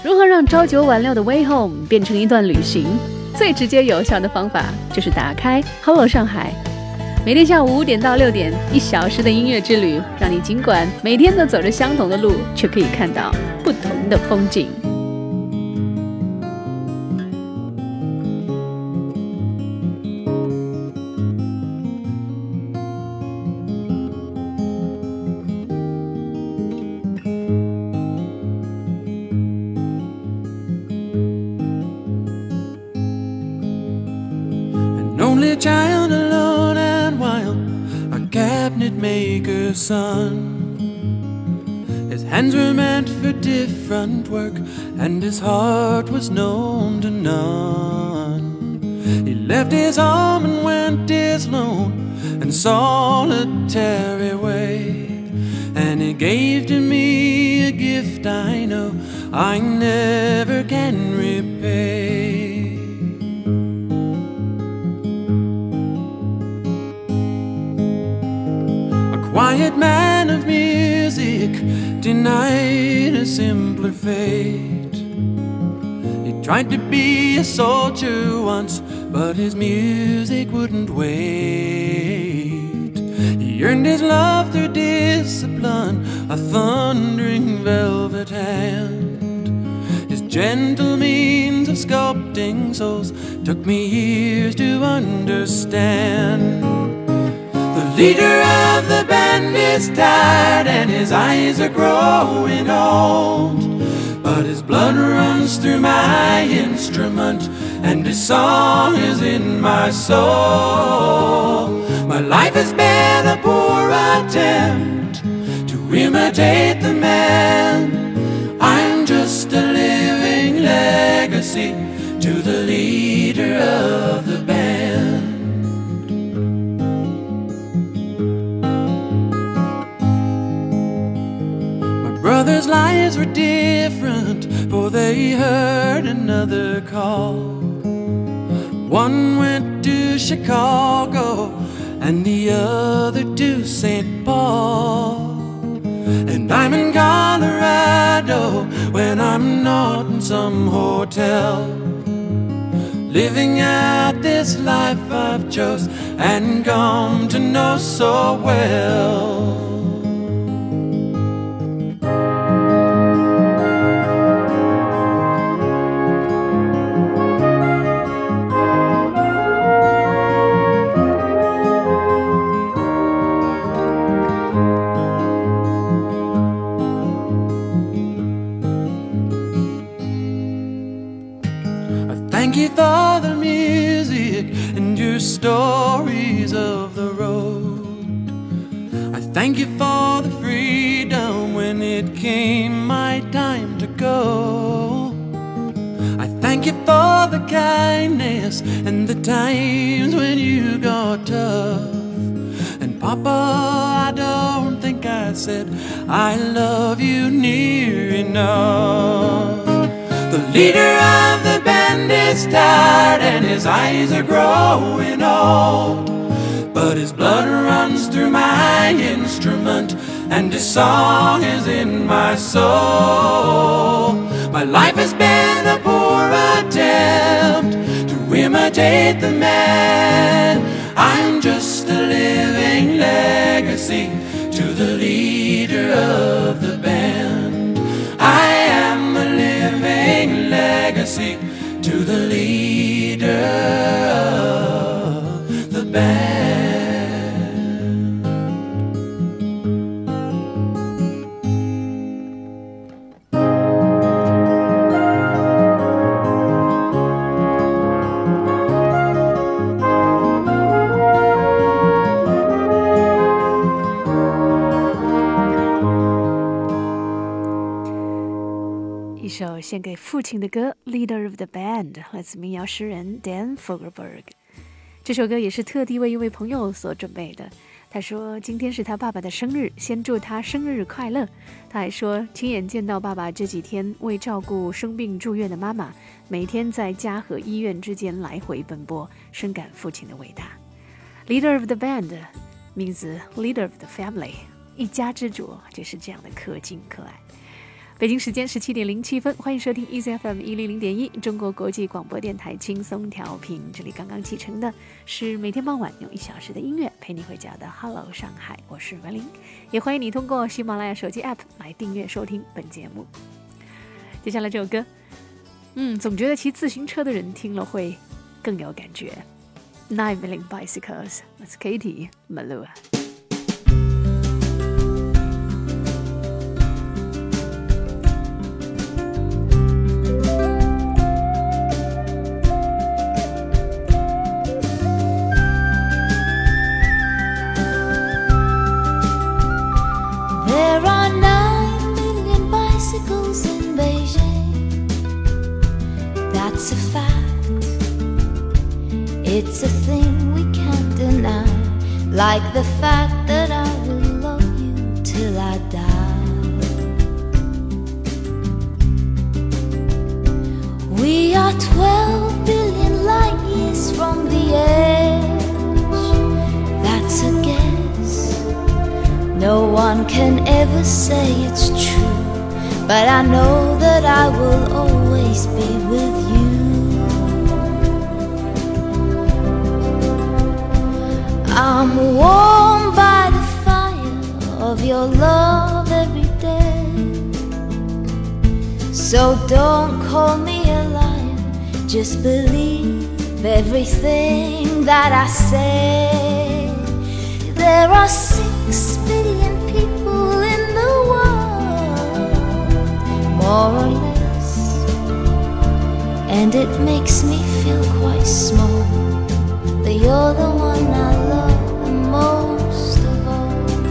如何让朝九晚六的 Way Home 变成一段旅行？最直接有效的方法就是打开 Hello 上海，每天下午5点到6点，1小时的音乐之旅，让你尽管每天都走着相同的路，却可以看到不同的风景。 Only a child alone and wild, a cabinet maker's son. His hands were meant for different work, and his heart was known to none. He left his home and went his lone and solitary way, and he gave to me a gift I know I never can repay. Quiet man of music, denied a simpler fate. He tried to be a soldier once, but his music wouldn't wait. He earned his love through discipline, a thundering velvet hand. His gentle means of sculpting souls took me years to understand. The leader of the band is tired and his eyes are growing old, but his blood runs through my instrument and his song is in my soul. My life has been a poor attempt to imitate the man. I'm just a living legacy to the leader of the band. Brothers' lives were different, for they heard another call. One went to Chicago and the other to St. Paul. And I'm in Colorado when I'm not in some hotel, living out this life I've chose and come to know so well. Thank you for the music and your stories of the road. I thank you for the freedom when it came my time to go. I thank you for the kindness and the times when you got tough. And Papa, I don't think I said I love you near enough. The leader of the band is tired and his eyes are growing old, but his blood runs through my instrument and his song is in my soul. My life has been a poor attempt to imitate the man. I'm just a living legacy to the leader of the band. I am a living legacy to the leader of the band. 一首献给父亲的歌 Leader of the Band 来自民谣诗人 Dan Fogelberg。 这首歌也是特地为一位朋友所准备的。他说今天是他爸爸的生日，先祝他生日快乐。他还说亲眼见到爸爸这几天为照顾生病住院的妈妈，每天在家和医院之间来回奔波，深感父亲的伟大。 Leader of the Band 名字 Leader of the Family， 一家之主就是这样的可敬可爱。 北京时间17:07，欢迎收听 EasyFM 100.1中国国际广播电台轻松调频。这里刚刚启程的是每天傍晚用1小时的音乐陪你回家的 Hello 上海，我是文玲，也欢迎你通过喜马拉雅手机 App 来订阅收听本节目。接下来这首歌，总觉得骑自行车的人听了会更有感觉。9 Million Bicycles， that's Katie Malua。There are 9 million bicycles in Beijing. That's a fact. It's a thing we can't deny. Like the fact that I will love you till I die. We are 12 billion light years from the edge. That's a guess. No one can ever say it's true, but I know that I will always be with you. I'm warmed by the fire of your love every day. So don't call me a liar, just believe everything that I say. There are 6 billion people in the world, more or less, and it makes me feel quite small, but you're the one I love the most of all.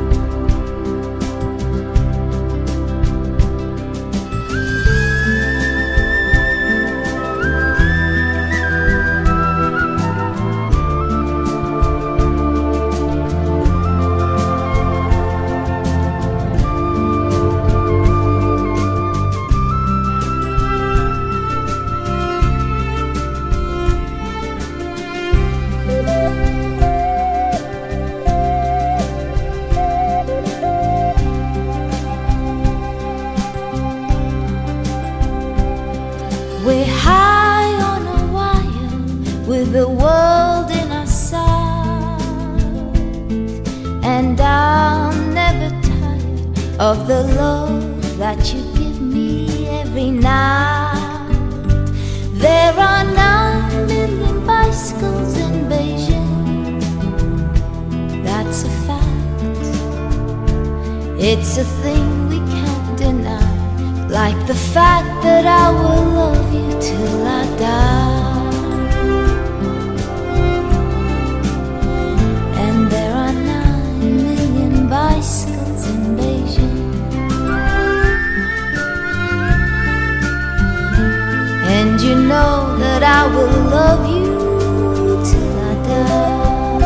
We're high on a wire with the world in our sight, and I'm never tired of the love that you give me every night. There are 9 million bicycles in Beijing. That's a fact. It's a thing we can't deny. Like the fact that I will love you till I die. And there are 9 million bicycles in Beijing. And you know that I will love you till I die.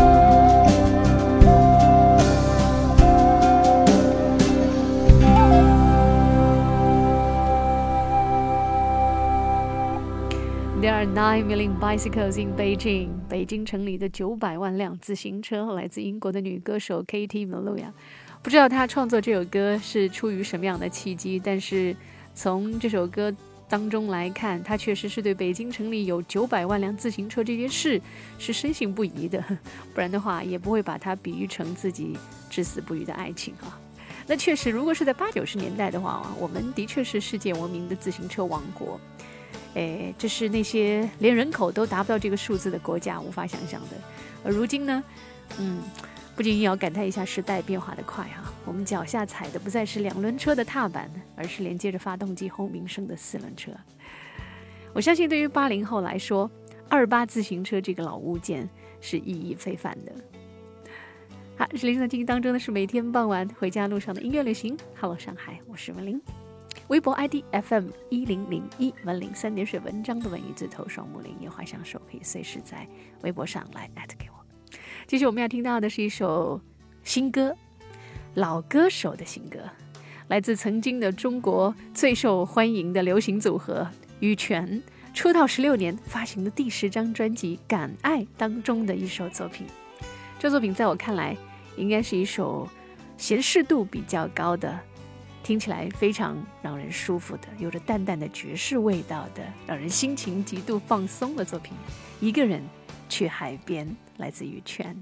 There are 9 million bicycles in Beijing. 北京城里的900万辆自行车，来自英国的女歌手 Katie Malua。不知道她创作这首歌是出于什么样的契机，但是从这首歌当中来看，她确实是对北京城里有900万辆自行车这件事是深信不疑的，不然的话也不会把它比喻成自己至死不渝的爱情啊。那确实，如果是在80、90年代的话，我们的确是世界闻名的自行车王国。这是那些连人口都达不到这个数字的国家无法想象的。而如今呢，不禁也要感叹一下时代变化的快啊！我们脚下踩的不再是2轮车的踏板，而是连接着发动机轰鸣声的4轮车。我相信对于80后来说，28自行车这个老物件是意义非凡的。好，这里正在进行当中的是每天傍晚回家路上的音乐旅行。Hello 上海，我是文玲。微博 ID FM1001，文玲3点水文章的文语字头双木林，也画上手可以随时在微博上来@给我。继续我们要听到的是一首新歌，老歌手的新歌，来自曾经的中国最受欢迎的流行组合羽泉，出道16年发行的第10张专辑《敢爱》当中的一首作品。这作品在我看来应该是一首闲适度比较高的听起来非常让人舒服的，有着淡淡的爵士味道的，让人心情极度放松的作品。一个人去海边，来自于全。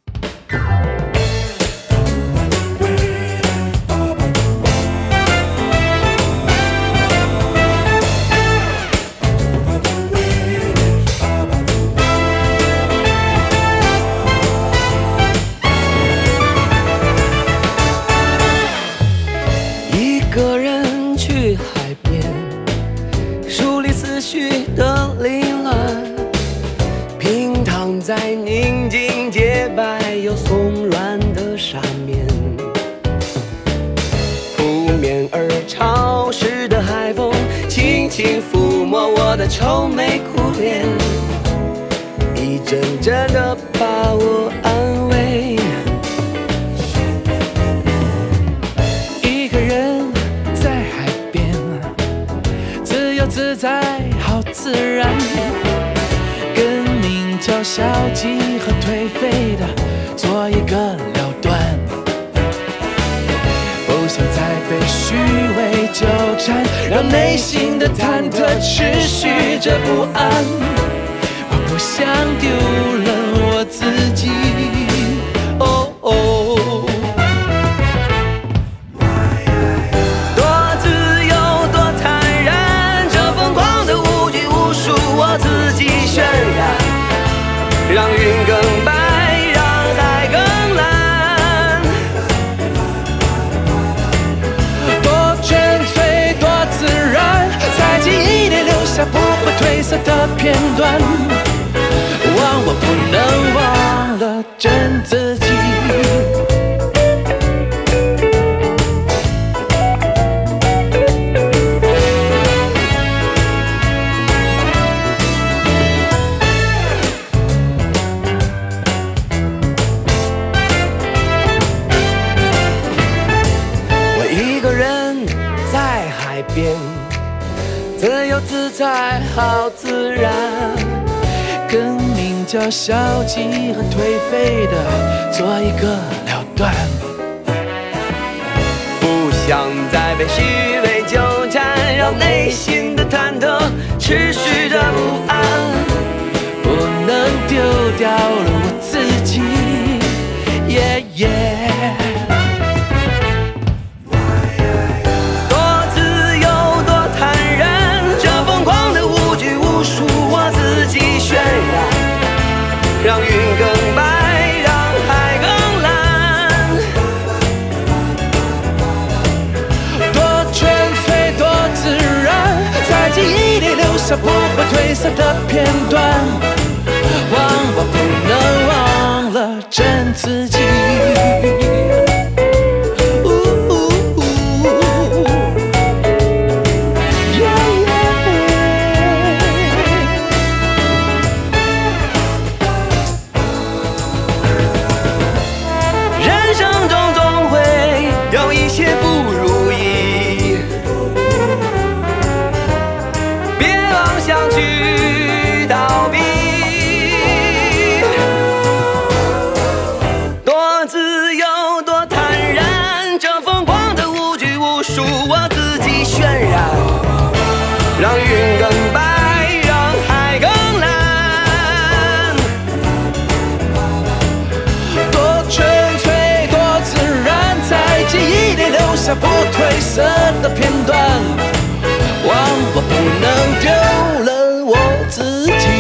一个人去海边，梳理思绪的凌乱，平躺在宁静洁白又松软的沙面，扑面而潮湿的海风轻轻抚摸我的愁眉苦脸，一阵阵的把我安慰。 自在好自然，跟名叫消极和颓废的做一个了断，不想再被虚伪纠缠，让内心的忐忑持续着不安。我不想丢了我自己，哦哦。 让云更白，让海更蓝， 多纯粹，多自然，在记忆里留下不会褪色的片段。忘我不能忘了真自己。 自由自在好自然， 跟名叫消极和颓废的做一个了断， 不想再被虚伪纠缠，让内心的忐忑持续着不安， 不能丢掉了我自己，耶耶。 让云更白，让海更蓝， 多纯粹，多自然，在记忆里留下不会褪色的片段。忘我不能忘了真自己。 让云更白，让海更蓝， 多纯粹，多自然，在记忆里留下不褪色的片段。忘我不能丢了我自己。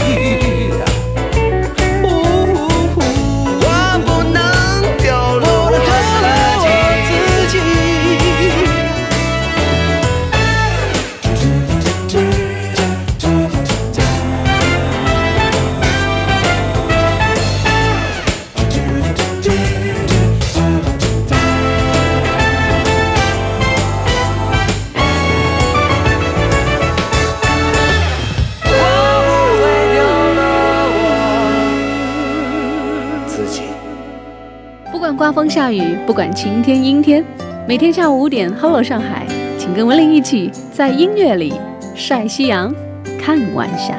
刮风下雨，不管晴天阴天，每天下午5点 ，Hello 上海，请跟文玲一起在音乐里晒夕阳，看晚霞。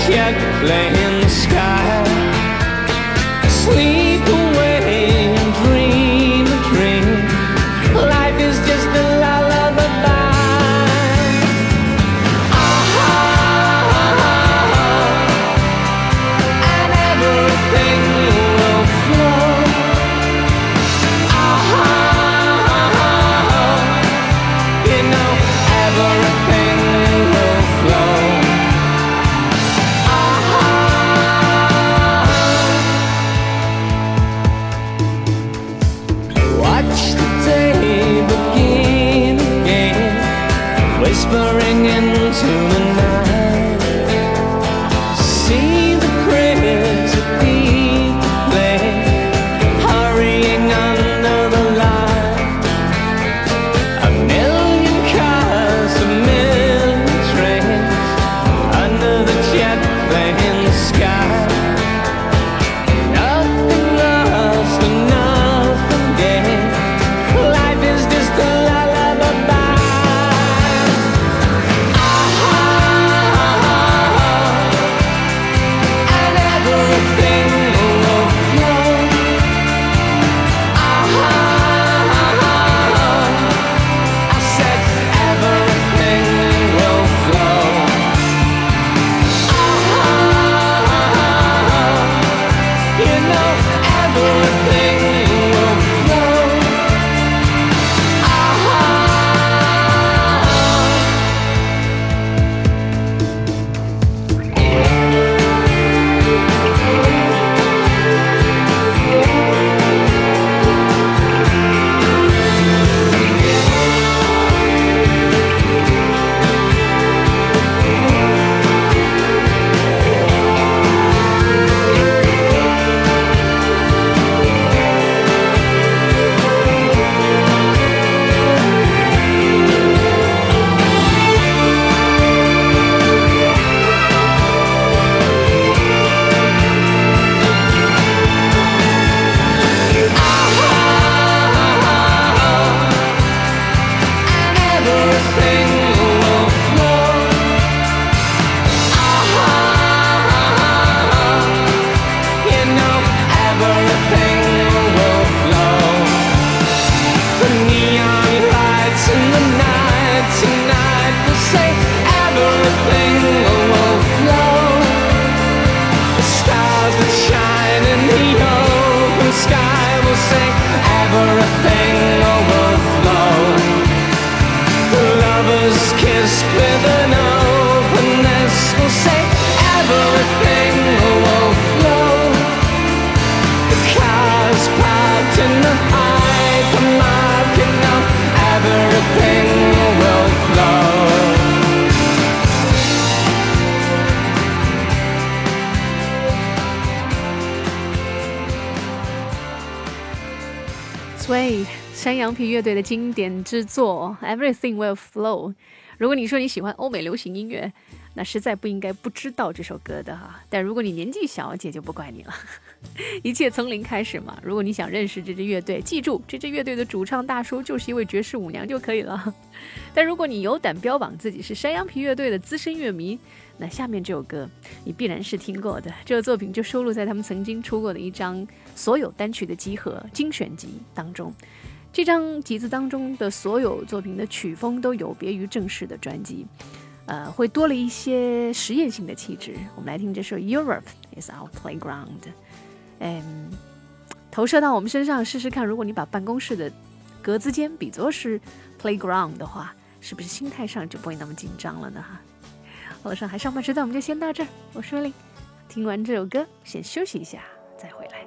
jet plane sky. Sleep away and dream a dream. Life is just a lullaby. And everything will flow. You know everything will flow. Watch the day begin again, whispering into the night. See the crickets at the play, hurrying under the light. A million cars, a million trains, under the jet plane sky. Nothing lost and nothing gained. Life is just a lullaby. And everything will flow. I said everything will flow. You know everything will flow. And everything will flow. You know everything will flow. The neon lights in the night tonight will say everything will flow. The stars that shine in the open sky will say everything will flow. The lovers kissed with an openness will say everything will flow. The cars parked in the hypermarket now, everything will flow. Sway 山羊皮乐队的经典之作 Everything Will Flow。 如果你说你喜欢欧美流行音乐，那实在不应该不知道这首歌的哈。但如果你年纪小，姐就不怪你了。一切从零开始嘛。如果你想认识这支乐队，记住这支乐队的主唱大叔就是一位爵士舞娘就可以了。但如果你有胆标榜自己是山羊皮乐队的资深乐迷，那下面这首歌你必然是听过的。这个作品就收录在他们曾经出过的一张所有单曲的集合精选集当中。这张集子当中的所有作品的曲风都有别于正式的专辑，会多了一些实验性的气质。我们来听这首 Europe is our playground。投射到我们身上试试看，如果你把办公室的格子间比作是 playground 的话，是不是心态上就不会那么紧张了呢？好了，上海上班时段我们就先到这儿，我是威利。听完这首歌先休息一下再回来。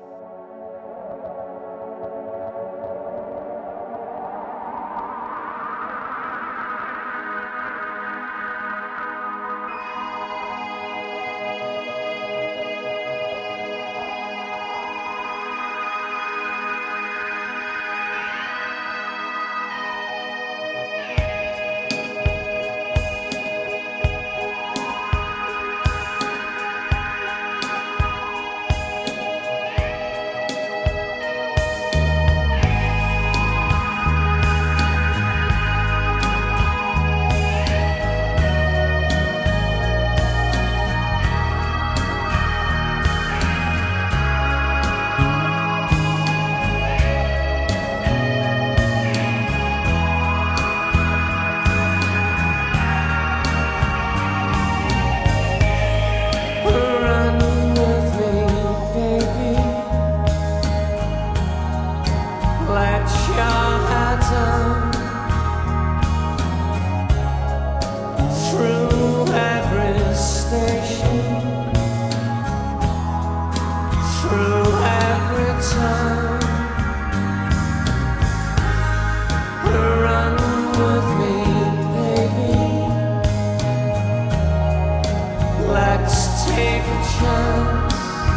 take a chance.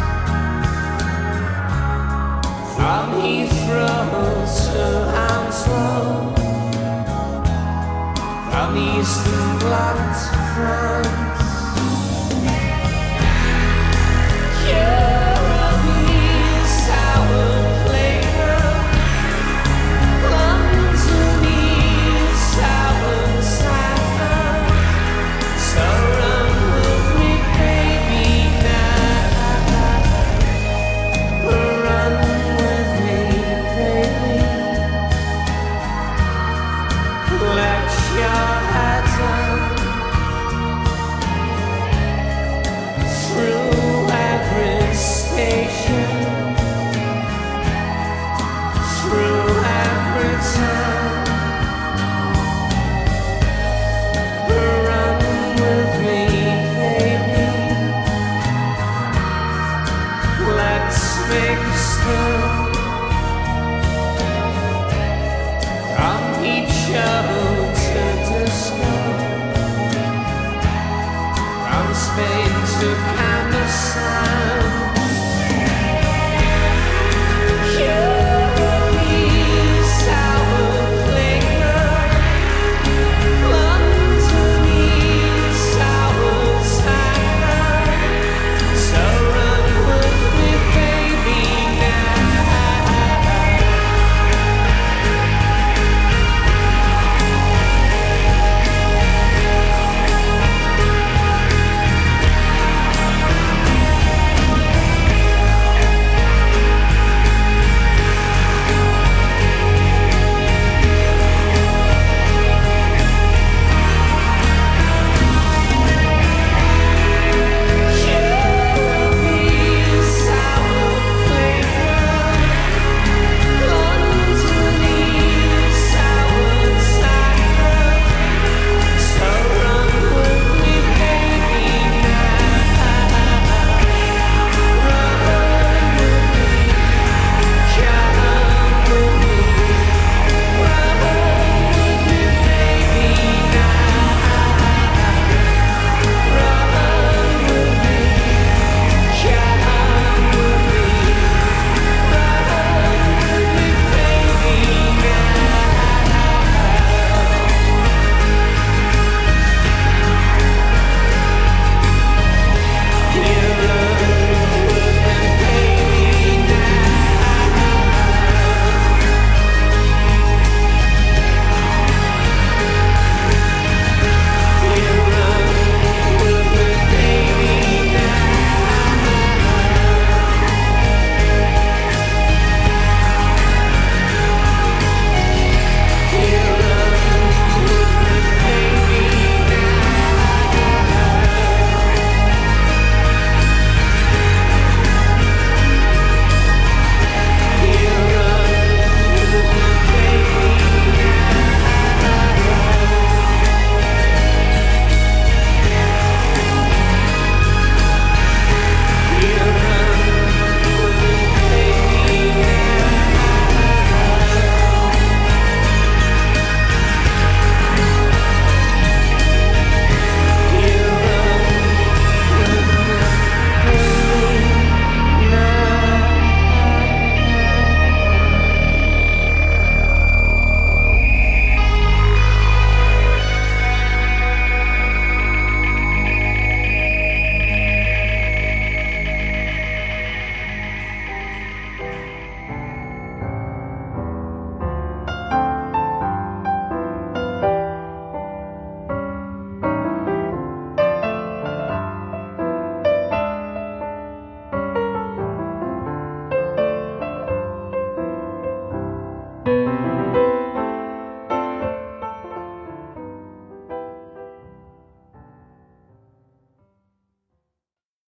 From Heathrow to Hounslow, from Eastern Bloc to France. Caribbean sour playground, London sour town. So run with me, baby, now. Run with me, baby. Let your head down. Through every station, through every town. Run with me, baby. Let's make a stop. From each show to disco, from Spain to Cambridge.